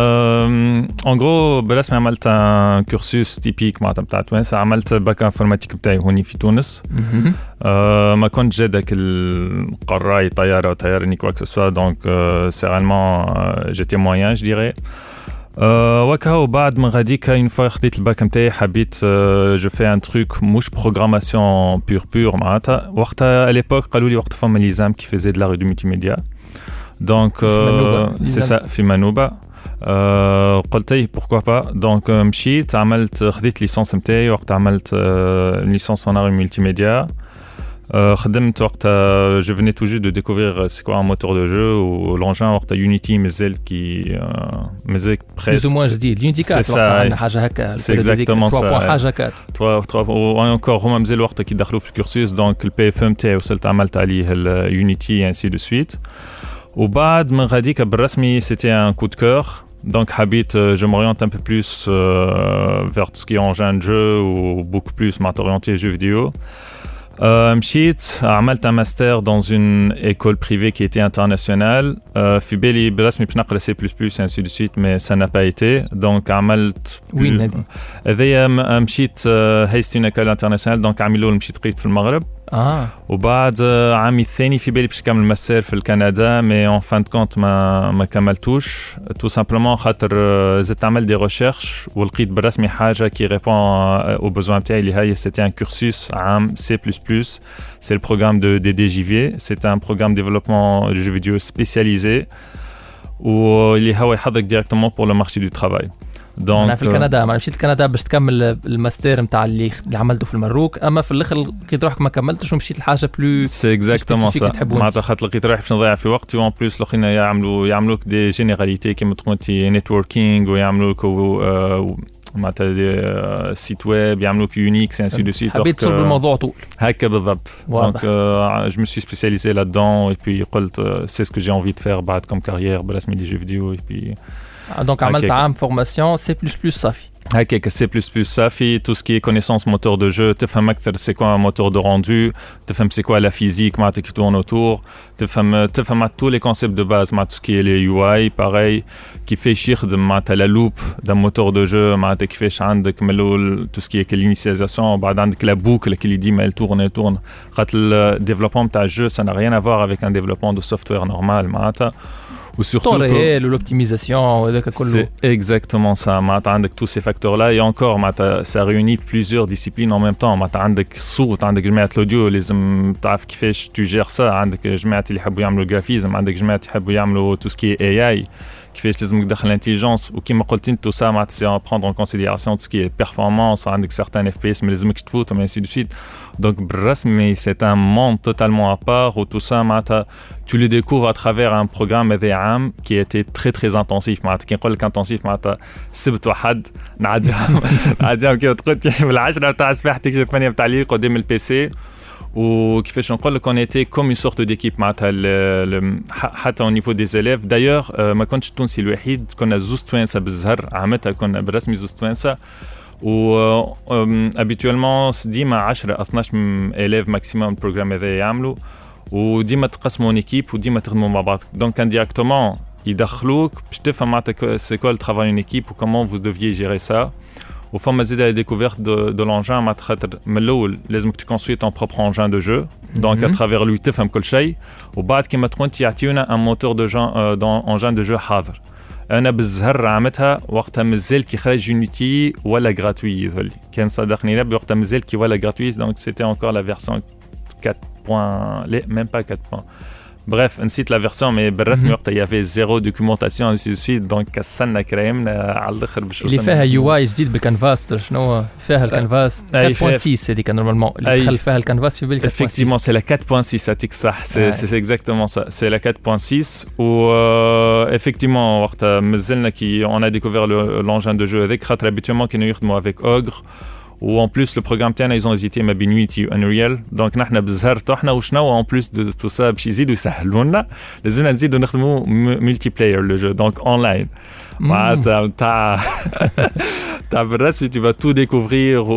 ان غرو برسمي عملت ان كورسوس تيبيك معناتها بتاع تونس، عملت باك انفورماتيك بتاعي هوني في تونس. أه ما كنت جادك القراي طياره وطيارني كواك سوا، دونك سيرالمون جيتي موين جو ديري. أه وكاو بعد من غاديك اون فوا خديت الباك نتاعي، حبيت أه جو في ان تروك مش بروغراماسيون بور بور معناتها. وقتها اليبوك قالوا لي وقت فما ليزام كي فيزي دو لا ريو مولتي ميديا، دونك سي سا في منوبه. أه قلت اي بوركوا با، دونك مشيت عملت خديت ليسونس نتاعي، وقت عملت أه ليسونس en art مولتي ميديا. خدمت وقتها جو فيني تو جو دو ديكوفرير سي كوا ان موتور دو جو، والانجان وقتها يونيتي مازال كي مازال بريس بلوز موان جديد. يونيتي كات وقتها عندنا حاجه هكا، سي اكزاكتومون سا حاجه كات ثلاثة ثلاثة وانكور هما مازال وقتها كي دخلوا في الكورسوس، دونك البي اف ام تاعي وصلت عملت عليه اليونيتي انسي دو سويت. وبعد من غاديك بالرسمي سيتي ان كو دو كور، donc habite euh, je m'oriente un peu plus euh, vers tout ce qui est engin de jeu ou beaucoup plus m'orienter jeux vidéo. Euh, مشيت عملت un master dans une école privée qui était internationale. euh, في بالي برسمي باش نقرا سي بلس بلس ainsi de suite mais ça n'a pas été, donc عملت وين هذه؟ هذيا مشيت هايست اون ايكول انترناسيونال، دونك عملوا مشيت قريت في المغرب. اه وبعد عامي الثاني في بالي باش نكمل ماستر في الكندا، مي اون فان كونت ما ما كملتوش تو سامبلومون خاطر زدت عمل دي ريشيرش ولقيت بالرسمي حاجه كي ريبون او بوزوان تاعي اللي هي سيتي ان كورسوس عام سي بلس بلس. سي البروغرام دو دي دي جي في، سيتي ان بروغرام ديفلوبمون دو جو فيديو سبيسياليزي واللي هو يحضرك ديريكتومون بور لو مارشي دو ترافاي. دونك انا في الكندا ما مشيت الكندا باش تكمل الماستر نتاع اللي اللي عملته في المروك، اما في الاخر لقيت روحك ما كملتش ومشيت لحاجه بلو سي اكزاكتومون سا. معناتها خاطر لقيت روحي باش نضيع في وقتي، وان بلوس الاخرين يعملوا يعملوا لك دي جينيراليتي كيما تكون تي نيتوركينغ، ويعملوا لك معناتها دي سيت ويب، يعملوا لك يونيكس انسي دو سيت. حبيت تصب الموضوع طول هكا بالضبط. دونك جو مي سوي سبيسياليزي لا دون، اي بي قلت سي سكو جي انفي دو فير بعد كوم كارير برسمي دي جو فيديو. اي بي دونك عملت عام فورماسيون سي بلس بلس صافي هكاك. سي بلس بلس صافي تو سكي كونيسونس موتور دو جو، تفهم اكثر سي كوا موتور دو روندو، تفهم سي كوا لا فيزيك معناتها كي تورن اوتور، تفهم تفهم تو لي كونسيبت دو باز مع تو سكي لي يو اي باراي، كيفاش يخدم معناتها لا لوب دا موتور دو جو، معناتها كيفاش عندك من الاول تو سكي لينيسياليزاسيون، وبعد عندك لا بوكل اللي ديما تورن تورن، خاطر الديفلوبمون تاع الجو سا نا ريان افوار افيك ان ديفلوبمون دو سوفتوير نورمال معناتها. وسورتو réel l'optimisation وهذاك كله. C'est exactement ça. معناتها عندك tous ces facteurs là et encore معناتها ça réunit plusieurs disciplines en même temps. معناتها عندك الصوت، عندك جماعة الاوديو لازم تعرف كيفاش tu gères ça، عندك جماعة اللي يحبوا يعملوا جرافيزم، عندك جماعة يحبوا يعملوا tout ce qui est A I، كيفاش لازم تدخل الانتيليجنس، وكيما قلت انت tout ça معناتها c'est prendre en considération tout ce qui est performance، عندك certains F P S ما لازمكش تفوتهم ainsi de suite. Donc بالرسمي c'est un monde totalement à part où tout ça معناتها tu le découvres à travers un programme هذا عام qui a été très très intensif. معناتها كي نقول لك intensif معناتها سبت واحد نعديهم نعديهم كيما تقول بالعشرة تاع صباح تكتب ثمانية تاع الليل قدام البي سي. وكيفاش نقول لك on était comme une sorte d'équipe معناتها حتى au niveau des élèves. d'ailleurs ما كنتش التونسي الوحيد، كنا زوز توانسه بالزهر عامتها، كنا بالرسمي زوز توانسه، و habituellement ديما عشرة اثناش élèves maximum البروغرام هذا يعملوا، وديما تقسموا اون ايكيب وديما تخدموا مع بعض. دونك انديريكتومون يدخلوك باش تفهم معناتها سي كوا الترافاي اون ايكيب وكومون فوز ديفيي جيري سا. وفما زيد لا ديكوفيرت دو دو لونجان معناتها خاطر من الاول لازمك تكونستروي طون بروبر انجان دو جو، دونك اترافير لوي تفهم كل شيء، وبعد كيما تكون يعطيونا ان موتور دو جان دون انجان دو جو حاضر. انا بالزهر عملتها وقتها مازال كي خرج يونيتي ولا غراتوي، يظهر لي كان صدقني ربي وقتها مازال كي ولا غراتوي، دونك سيتي انكور لا فيرسيون quatre point لا ميم با quatre point Bref, نسيت la version mais بالرسمي وقتها il y avait zéro documentation ainsi de suite donc كسلنا كرايمنا على الاخر باش اللي فيها يو اي جديد بالكانفاس شنو فيها الكانفاس أربعة فاصلة ستة هذيك نورمالمون اللي دخل فيها الكانفاس في بالك effectivement c'est la quatre point six هاتيك صح c'est c'est exactement ça c'est la quatre point six و euh, effectivement وقتها مازلنا كي on a découvert le, l'engin de jeu avec خاطر habituellement كانوا يخدموا avec Ogre ou en plus le programme تاعنا ils ont hésité ما بين Unity و Unreal donc نحنا بزهرتو احنا وشنو en plus de tout ça باش يزيدوا يسهلوا لنا لازمنا نزيدوا نخدموا multi player le jeu donc online معناتها تاع تاع بالرسمي tu vas tout découvrir و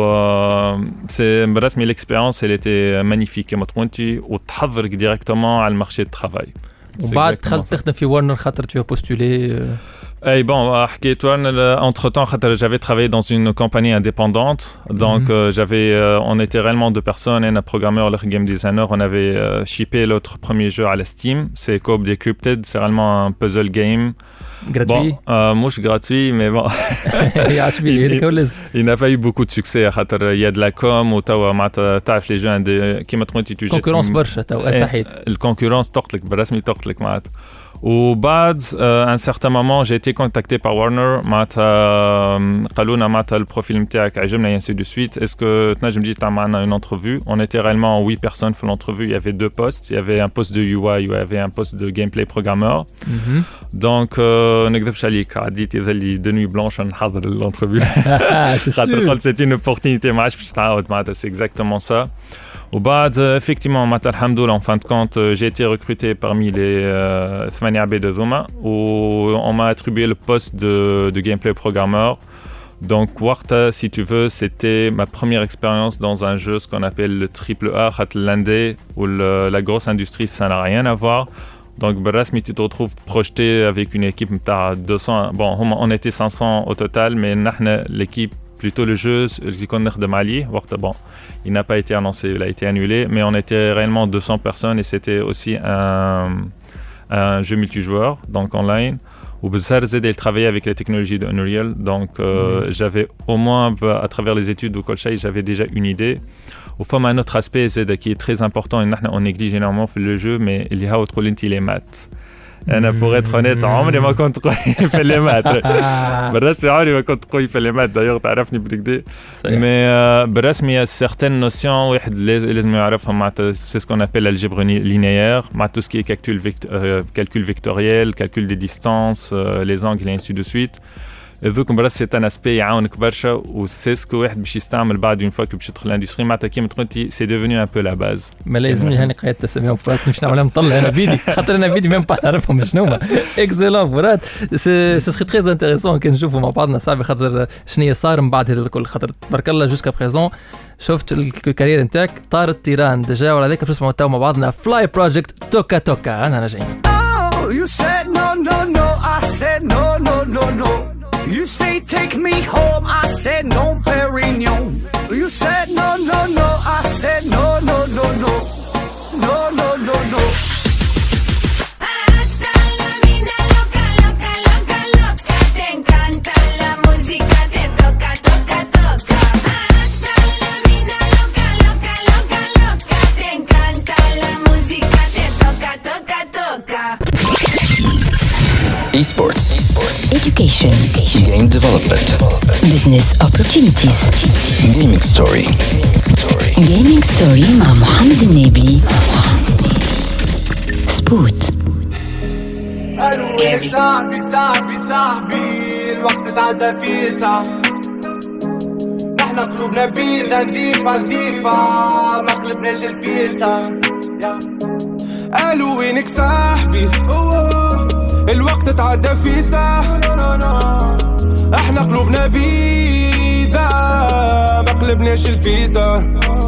c'est بالرسمي l'expérience elle était magnifique كما تقولتي وتحضرك directement على المارشي دو travail وبعد دخلت تخدم في ورنر خاطر tu as postulé Et bon, entre-temps, j'avais travaillé dans une compagnie indépendante. Donc, mm-hmm. euh, j'avais, euh, on était réellement deux personnes, un programmeur, le game designer. On avait euh, shippé notre premier jeu à la Steam. C'est Coop Decrypted. C'est réellement un puzzle game. Gratuit bon, euh, mouche gratuit, mais bon. il, il n'a pas eu beaucoup de succès. Il y a de la com, ou t'as les jeux qui m'ont été utilisés. Concurrence برشا توا صحيت. الكونكورنس تقتلك بالرسمي تقتلك معناتها. وبعد à un certain moment j'ai été contacté par Warner معناتها قالوا لنا معناتها البروفيل نتاعك عجبنا et ainsi de suite est-ce que تنجم تجي تعمل معنا une entrevue on était réellement huit personnes pour l'entrevue il y avait deux postes il y avait un poste de U I il y avait un poste de gameplay programmeur mm-hmm. donc ما نكذبش عليك عديت يظل دو نوي بلانش نحضر l'entrevue خاطر قلت c'est une opportunité ما عادش باش تعاود معناتها c'est exactement ça وبعد effectivement معناتها الحمد لله en fin de compte j'ai été recruté parmi les ثمانية عباد هذوما و on m'a attribué le poste de, de gameplay programmeur donc وقتها si tu veux c'était ma première expérience dans un jeu ce qu'on appelle le triple A خاطر l'indé ou le, la grosse industrie ça n'a rien à voir donc بالرسمي tu te retrouves projeté avec une équipe نتاع deux cents bon on était cinq cents au total mais نحنا l'équipe plutôt le jeu اللي كنا نخدم عليه وقتها bon il n'a pas été annoncé il a été annulé mais on était réellement deux cents personnes et c'était aussi un un jeu multijoueur donc online où Bezar Zed il travaillait avec les technologies de Unreal donc euh, mmh. j'avais au moins à travers les études de Kolshay j'avais déjà une idée au fond un autre aspect Zed qui est très important et on néglige énormément le jeu mais il y a autre les maths أنا pour être honnête عمري ما كنت قوي في المات بالرسمي عمري ما كنت قوي في المات دايوغ تعرفني بالكدا mais بالرسمي certaines notions واحد لازم يعرفها معناتها c'est ce qu'on appelle l'algèbre linéaire مع tout ce qui est calcul calcul vectoriel calcul des distances les angles et ainsi de suite ذوك برا c'est un aspect يعاونك برشا و c'est ce que واحد باش يستعمل بعد une fois que باش يدخل الاندستري معناتها كيما تقولتي c'est devenu un peu la base ما لازمني هاني قاعد تسميهم فرات مش نعملها نطلع انا فيديو خاطر انا فيديو ميم با نعرفهم شنو هما اكسلون فرات سي سي تري انتريسون كي نشوفوا مع بعضنا صاحبي خاطر شنو صار من بعد هذا الكل خاطر تبارك الله جوسكا بريزون شفت الكارير نتاعك طار التيران ديجا ولا هذاك باش نسمعوا توا مع بعضنا فلاي بروجكت توكا توكا انا راجعين You said no no no I said no no no no You say take me home, I said no, Perignon. You said no, no, no, I said no, no, no, no, no, no, no, no. Hasta la vida loca, loca, loca, loca. Te encanta la música, te toca, toca, toca. Hasta la vida loca, loca, loca, loca. Te encanta la música, te toca, toca, toca. Esports. Esports. Education. Education. Game development. Business opportunities. Gaming story. Gaming story مع محمد النبي. سبوت. قالوا لك صاحبي صاحبي صاحبي الوقت تعدى فيه ساعة نحنا قلوبنا بيضة نظيفة نظيفة ما قلبناش الفيستا قالوا وينك صاحبي الوقت تعدى في ساعة احنا قلوبنا بيضة ما قلبناش الفيستا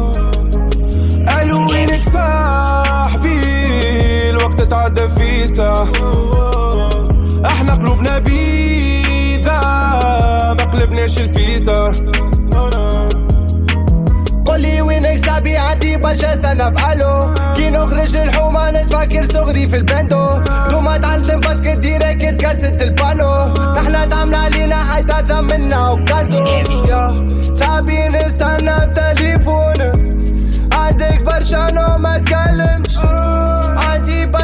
قالوا وينك صاحبي الوقت تعدى في ساعة احنا قلوبنا بيضة ما قلبناش الفيستا قولي وينك صاحبي عندي برشا سنة فعلو كي نخرج الحومة نتفكر صغري في البندو دوما تعلم باسكت ديريكت كاسة البانو نحنا تعمل علينا حيتا ثمنا وكاسو صاحبي نستنى في تليفون عندك برشا نو ما تكلمش عندي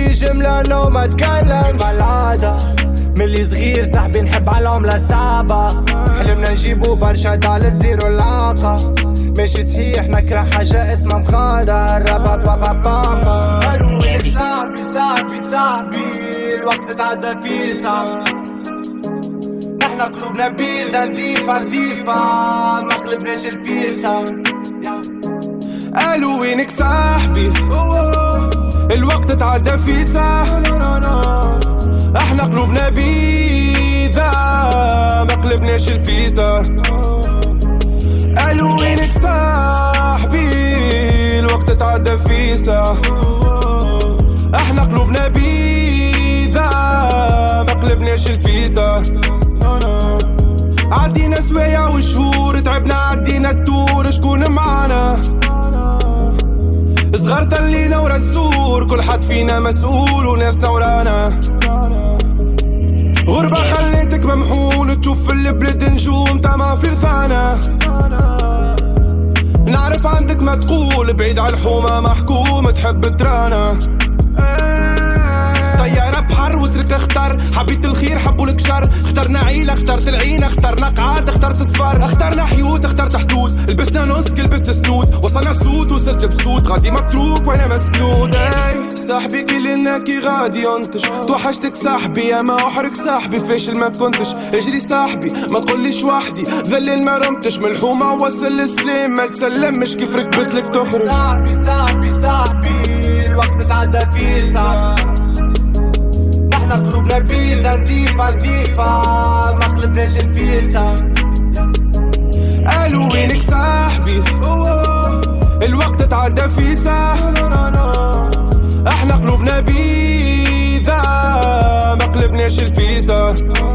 لي جملة لو ما تكلمش العادة ملي صغير صاحبي نحب على العملة الصعبة حلمنا نجيبو برشا دالس زيرو العاقة ماشي صحيح نكره حاجة اسمها مخادر رابا بابا بابا قالوا وين صاحبي صاحبي صاحبي الوقت تعدى فيه صعب نحنا قلوبنا بيضة نظيفة نظيفة ما قلبناش الفيسة قالوا وينك صاحبي الوقت تعدى فيه صح احنا قلوبنا بيضة ما قلبناش الفيسة قالوا وينك صاحبي الوقت تعدى فيه صح احنا قلوبنا بيضة ما قلبناش الفيسة عدينا سوايع وشهور تعبنا عدينا الدور شكون معانا صغار تلينا ورا السور كل حد فينا مسؤول وناسنا ورانا غربة خليتك ممحون تشوف في البلد نجوم تما في رثانا نعرف عندك ما تقول بعيد على الحومة محكوم تحب ترانا طيارة بحر وترك اختار حبيت الخير حبوا لك شر اخترنا عيلة اخترت العينة اخترنا قعاد اخترت صفار اخترنا حيوت اخترت حدود لبسنا نسك لبست سنود وصلنا سود وصلت بسود غادي متروك وانا مسنود صاحبي كلنا كي غادي ينتش توحشتك صاحبي يا ما احرق صاحبي فاشل ما كنتش اجري صاحبي ما تقوليش وحدي ذلل ما رمتش من الحومة وصل السلام ما تسلمش كيف ركبتلك تخرج صاحبي صاحبي صاحبي الوقت تعدى فيه صعب احنا قلوبنا بيضة نظيفة نظيفة ما قلبناش الفيسة قالوا وينك صاحبي الوقت تعدى فيه صح احنا قلوبنا بيضة ما قلبناش الفيسة.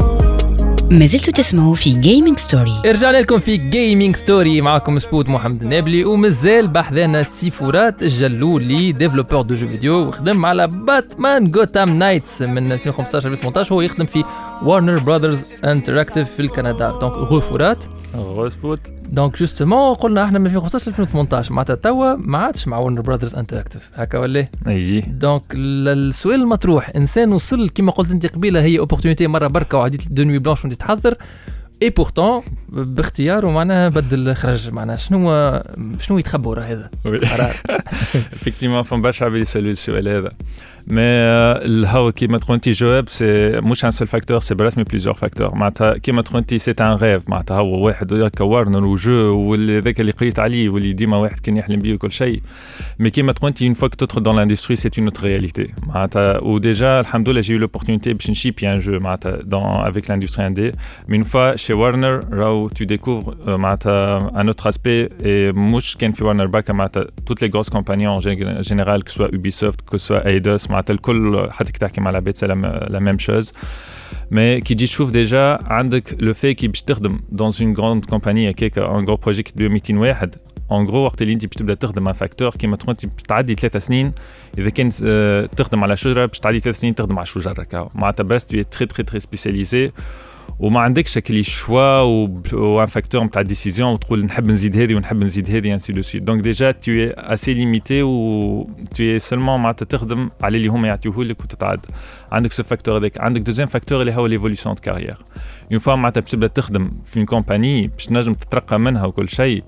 ما زلتوا تسمعوا في جيمنج ستوري. رجعنا لكم في جيمنج ستوري معكم سبوت محمد النابلي ومازال بحذانا سيفورات الجلولي ديفلوبور دو جو فيديو وخدم على باتمان غوثام نايتس من ألفين وخمسطاش ألفين وثمانطاش. هو يخدم في وارنر براذرز انتراكتيف في الكندا. دونك غفورات غفوت دونك جوستومون قلنا احنا من ألفين وخمسطاش ألفين وثمانطاش معناتها توا ما عادش مع وارنر براذرز انتراكتيف هكا ولا اي. دونك السؤال المطروح انسان وصل كما قلت انت قبيله هي اوبورتونيتي مره بركه وعديت دو نوي بلانش وانت تحضر اي بورتون باختياره معناها بدل خرج معناها شنو شنو يتخبوا راه هذا قرار effectivement فما برشا عباد يسالوا السؤال هذا مي الهوا كيما تقول انت جواب سي مش ان سول فاكتور سي برسمي بليزيور فاكتور معناتها كيما تقول انت سي ان ريف معناتها هو واحد هكا وارنر وجو وذاك اللي قريت عليه واللي ديما واحد كان يحلم بيه وكل شيء مي كيما تقول انت اون فوا كو تدخل دون لاندستري سي اون اوتر رياليتي معناتها وديجا الحمد لله جي لوبورتونيتي باش نشيبي ان جو معناتها دون افيك لاندستري اندي مي اون فوا شي وارنر راهو تو ديكوفر معناتها ان اوتر اسبي اي مش كان في وارنر باكا معناتها توت لي غروس كومباني ان جينيرال كو سوا اوبيسوفت كو سوا ايدوس معناتها الكل حتى كي تحكي مع العباد سي لا ميم شوز مي كي تجي تشوف ديجا عندك لو في كي باش تخدم دون اون غروند كومباني هكاك ان غرو بروجي كي مئتين واحد ان غرو وقت اللي انت باش تبدا تخدم مع فاكتور كيما تقول انت تعدي ثلاثة سنين اذا كان تخدم على شجره باش تعدي ثلاث سنين تخدم على شجره هكا معناتها برس تو تري تري تري سبيسياليزي وما عندكش كلي شوا وان فاكتور نتاع ديسيزيون وتقول نحب نزيد هذه ونحب نزيد هذه انسي دو سويت دونك ديجا تو اي اسي ليميتي و تو اي سولمون معناتها تخدم على اللي هما يعطيوه لك وتتعد عندك سو فاكتور هذاك عندك دوزيام فاكتور اللي هو ليفوليسيون دو كارير اون فوا معناتها باش تبدا تخدم في اون كومباني باش تنجم تترقى منها وكل شيء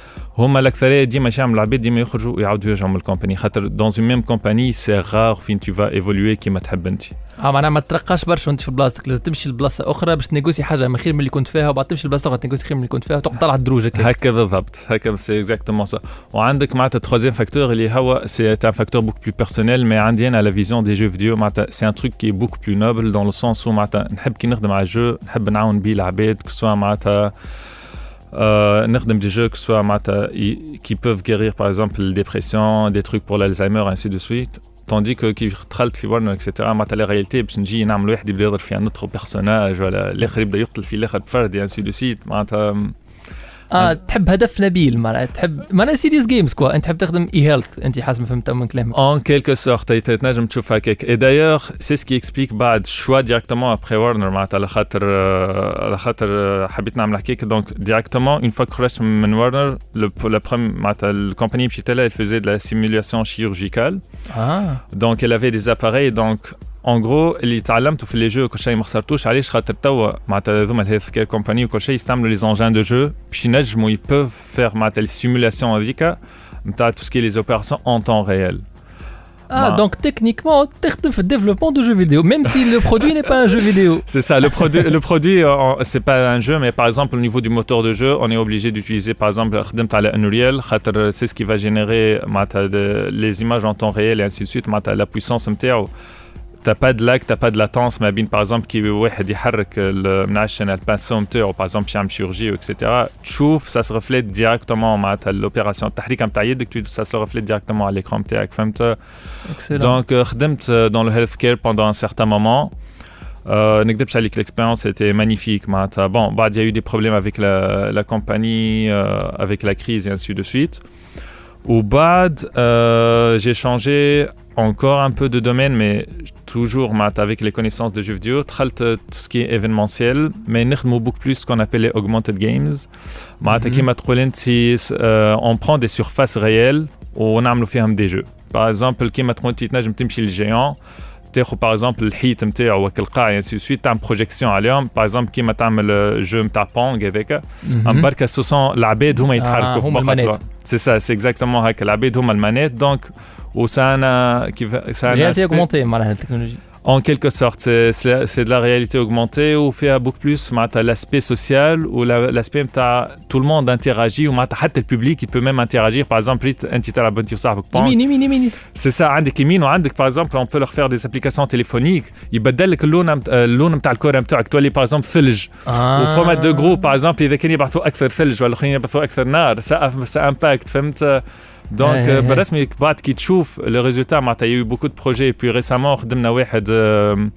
هما الاكثريه ديما يعملوا العباد ديما يخرجوا ويعاودوا يرجعوا من الكومباني خاطر دون اون ميم كومباني سي رار فين تو فا ايفولوي كيما تحب انت اه معناها ما ترقاش برشا وانت في بلاصتك لازم تمشي لبلاصه اخرى باش تنيغوسي حاجه من خير من اللي كنت فيها وبعد تمشي لبلاصه اخرى تنيغوسي خير من اللي كنت فيها وتقعد طالع الدروج هكا هكا بالضبط هكا سي اكزاكتومون سا وعندك معناتها تروزيام فاكتور اللي هو سي ان فاكتور بوك بلو بيرسونيل مي عندي انا لا فيزيون دي جو فيديو معناتها سي ان تروك كي بوك بلو نوبل دون لو سونس معناتها نحب كي نخدم على جو نحب نعاون بيه العباد كسوا معناتها Euh, نخدم des jeux que soit معناتها qui peuvent guérir par exemple la dépression des trucs pour l'Alzheimer ainsi de suite tandis que كي دخلت في ورنر اكسترا معناتها لا رياليتي باش نجي نعمل واحد يبدا يضرب في ان اوتر بيرسوناج ولا الاخر يبدا يقتل في الاخر بفرد ainsi de suite معناتها اه تحب هدف نبيل معناها تحب معناها سيريس جيمز كوا انت تحب تخدم اي هيلث انت حسب ما فهمت من كلامك En quelque sorte, تنجم تشوف هكاك. Et d'ailleurs, c'est ce qui explique بعد choix directement après Warner معناتها على خاطر على خاطر حبيت نعمل هكاك. Donc directement une fois que خرجت من Warner, le la première معناتها الكومباني مشيت لها, elle faisait de la simulation chirurgicale. Ah. Donc elle avait des appareils. Donc en gros اللي تعلمته في لي جو كل شيء ما خسرتوش علاش خاطر توا معناتها هذوما الهيلث كير كومباني وكل شيء يستعملوا لي زونجان دو جو باش ينجموا يبوف فير معناتها لي سيمولاسيون هذيك نتاع تو سكي لي اوبيراسيون اون طون ريال. Ah, donc techniquement, tu fais le développement de jeux vidéo, même si le produit n'est pas un jeu vidéo. C'est ça, le produit, le produit euh, c'est pas un jeu, mais par exemple, au niveau du moteur de jeu, on est obligé d'utiliser, par exemple, Unreal, c'est ce qui va générer les images en temps réel et ainsi de suite, la puissance. T'as pas de lag, t'as pas de latence, mais bien par exemple qui واحد يحرك المنعشن الباسون نتاعو par exemple يعمل chirurgie et cetera. تشوف ça se reflète directement معناتها l'opération التحريك نتاع يدك ça se reflète directement à l'écran نتاعك فهمت. Donc خدمت dans le healthcare pendant un certain moment. Euh, نكدبش عليك l'expérience était magnifique معناتها. Bon, بعد il y a eu des problèmes avec la la compagnie euh, avec la crise et ainsi de suite. Ou بعد euh, j'ai changé encore un peu de domaine, mais toujours avec les connaissances de jeux vidéo, tout ce qui est événementiel, mais nous beaucoup plus ce qu'on appelle les augmented games. Mm-hmm. On prend des surfaces réelles et on fait des jeux. Par exemple, le géant, par exemple le hit نتاعو والقاع et ainsi de suite, une projection عليهم. Par exemple, كيما تعمل jeu نتاع بونغ هذاك، أم بركة ce sont العباد هما يتحركوا في مخاطرة. C'est ça, c'est exactement هكا. العباد هما المانيت. Donc وسانا كيف سانا réalité augmentée معناها التكنولوجيا. En quelque sorte, c'est, c'est, c'est de la réalité augmentée où fait beaucoup plus l'aspect social ou la, l'aspect où tout le monde interagit ou le public il peut même interagir. Par exemple, c'est ça, par exemple, on peut leur faire des applications téléphoniques. Ils بدلك اللون اللون نتاع الكرة نتاعك تولي par exemple ثلج. وفما دو جروب par exemple إذا كانوا يبعثوا أكثر ثلج ولا آخرين يبعثوا أكثر نار. ça ça impacte فهمت. Donc euh, برسمي بعد كي تشوف le résultat معناتها il y a eu beaucoup de projets et puis récemment خدمنا واحد euh,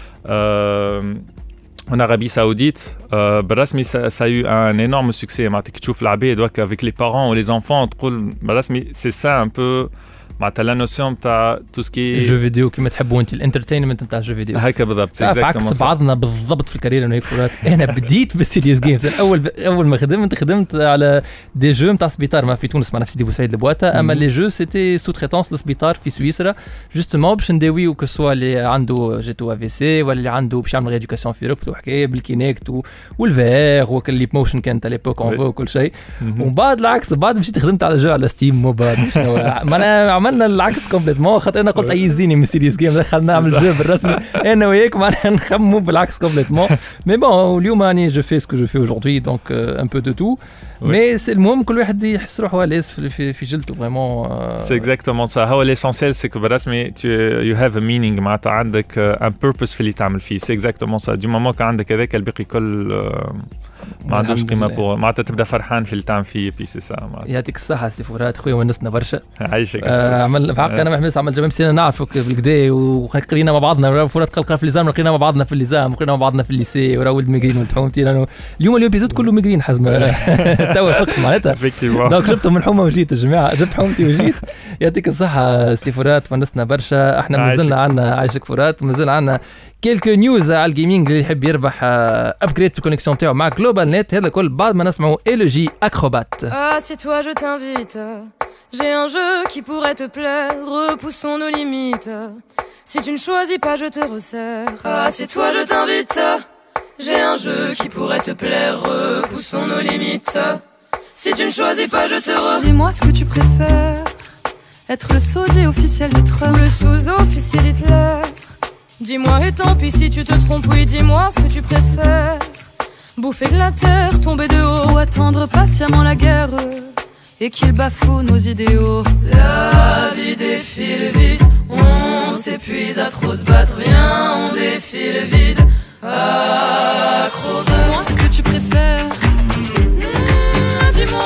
euh, en Arabie Saoudite euh, برسمي ça, ça a eu un énorme succès معناتها كي تشوف العباد avec les parents ou les enfants تقول برسمي c'est ça un peu معناتها لا نوسيون تاع تو سكي جو فيديو كيما تحبوا انت الانترتينمنت نتاع جو فيديو هكا بالضبط. عكس بعضنا بالضبط في الكارير انا فرات. انا بديت بالسيريس جيمز اول اول ما خدمت خدمت على دي جو نتاع سبيطار ما في تونس معنا في سيدي بوسعيد البواتا. اما لي جو سيتي سو تريتونس للسبيطار في سويسرا جوستومون باش نداويو كسوا اللي عنده جيتو افي سي ولا اللي عنده باش يعمل ريديوكاسيون في ركبته وحكايه بالكينيكت والفير وكل موشن كانت ليبوك اون فو وكل شيء. ومن بعد العكس بعد مشيت خدمت على جو على ستيم موبايل انا عملنا العكس كومبليتمون خاطر انا قلت ايزيني من سيريس جيم دخلنا نعمل جو بالرسمي انا وياك معناها نخمموا بالعكس كومبليتمون. مي بون اليوم راني جو في سكو جو في اجوردي دونك ان بو دو تو. مي سي المهم كل واحد يحس روحه لاس في في جلده فريمون. سي اكزاكتومون سا. هو ليسونسيال سي كو بالرسمي يو هاف ا مينينغ معناتها عندك ان بيربوس في اللي تعمل فيه. سي اكزاكتومون سا. دي مومون كان عندك هذاك الباقي كل ما عندوش قيمه بور معناتها تبدا فرحان في اللي تعمل فيه بي. سي سا. يعطيك الصحه سي فرات خويا ونسنا برشا. عايشك. عمل بحق انا محمس عمل جميع سنه نعرفك بالكدا وقرينا مع بعضنا فرات قلقنا في الليزام قرينا مع بعضنا في الليزام قرينا مع بعضنا في الليسي ورا ولد ميغرين ولد حومتي لانه اليوم الابيزود كله ميغرين حزمه توا فقت معناتها دونك جبتهم من حومه وجيت يا جماعه جبت حومتي وجيت. يعطيك الصحه سي فرات ونسنا برشا. احنا مازلنا عندنا عايشك فرات مازال عندنا كيلكو نيوز على الجيمنج اللي يحب يربح ابجريد في الكونيكسيون تاعو مع جلوبال نت. هذا كل بعد ما نسمعوا ال جي اكروبات. Ah c'est toi je t'invite. J'ai un jeu qui pourrait te plaire. Repoussons nos limites. Si tu ne choisis pas je te resserre. Ah c'est toi je t'invite. J'ai un jeu qui pourrait te plaire. Repoussons nos limites. Si tu ne choisis pas je te resserre. Dis-moi ce que tu préfères. Être le sosie officiel de Trump ou le sous-officier d'Hitler. Dis-moi et tant pis si tu te trompes, oui dis-moi ce que tu préfères. Bouffer de la terre, tomber de haut ou attendre patiemment la guerre et qu'il bafoue nos idéaux. La vie défile vite, on s'épuise à trop se battre. Viens, on défile vide, acrobat. Dis-moi ce que tu préfères. Mmh, dis-moi. Ou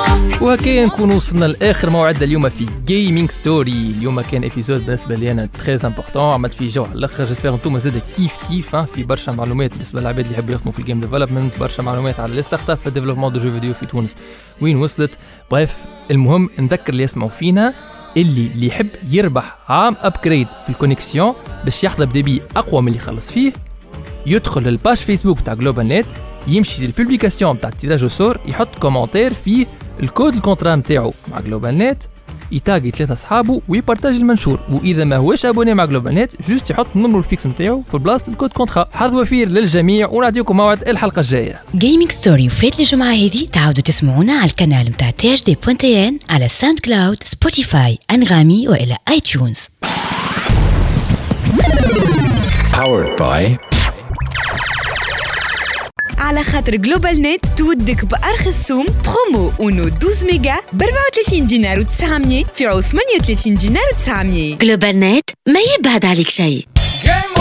وهكا نكون وصلنا لاخر موعد اليوم في جيمنج ستوري. اليوم كان ابيزود بالنسبه لي انا تري امبورطون، عملت فيه جو على الاخر. جيسبر انتم زاد كيف كيف في برشا معلومات بالنسبه للعباد اللي يحبوا يخدموا في الجيم ديفلوبمنت، برشا معلومات على لي ستارت اب في الديفلوبمون دو جو فيديو في تونس وين وصلت. بريف المهم نذكر اللي يسمعوا فينا اللي اللي يحب يربح عام ابجريد في الكونيكسيون باش يحضر بدبي اقوى من اللي خلص فيه، يدخل للباج فيسبوك تاع جلوبال نت، يمشي للبوبليكاسيون تاع التيراج وسور، يحط كومنتير فيه الكود الكونترا نتاعو مع جلوبال نت، يتاغي ثلاثه اصحابه ويبارطاج المنشور. واذا ما هوش ابوني مع جلوبال نت جوست يحط النمرو الفيكس نتاعو في بلاصه الكود كونترا. حظ وفير للجميع ونعطيكم موعد الحلقه الجايه. جيمنج ستوري وفات الجمعه هذه تعاودوا تسمعونا على القناه نتاع تي اش دي بوان تي ان على ساوند كلاود، سبوتيفاي، انغامي والى اي تيونز. Powered by على خاطر جلوبال نت تودك بأرخص سوم برومو اونو اثناشر ميجا ب أربعة وثلاثين دينار وتسعمية في عوض ثمانية وثلاثين دينار وتسعمية. جلوبال نت ما يبعد عليك شيء.